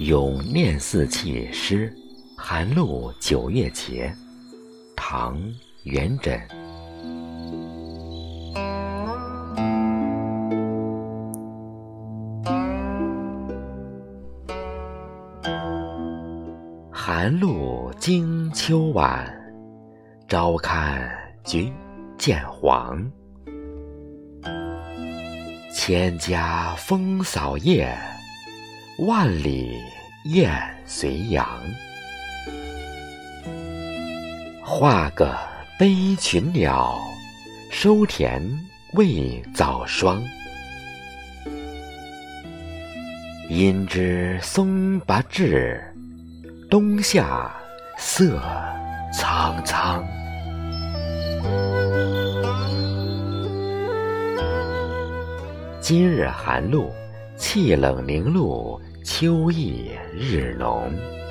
咏念四气诗，寒露九月节。唐·元稹。寒露惊秋晚，朝看菊见黄。千家风扫叶，万里雁随阳。画个悲群鸟，收田未早霜。因知松柏至，冬夏色苍苍。今日寒露，气冷凝露，秋意日浓。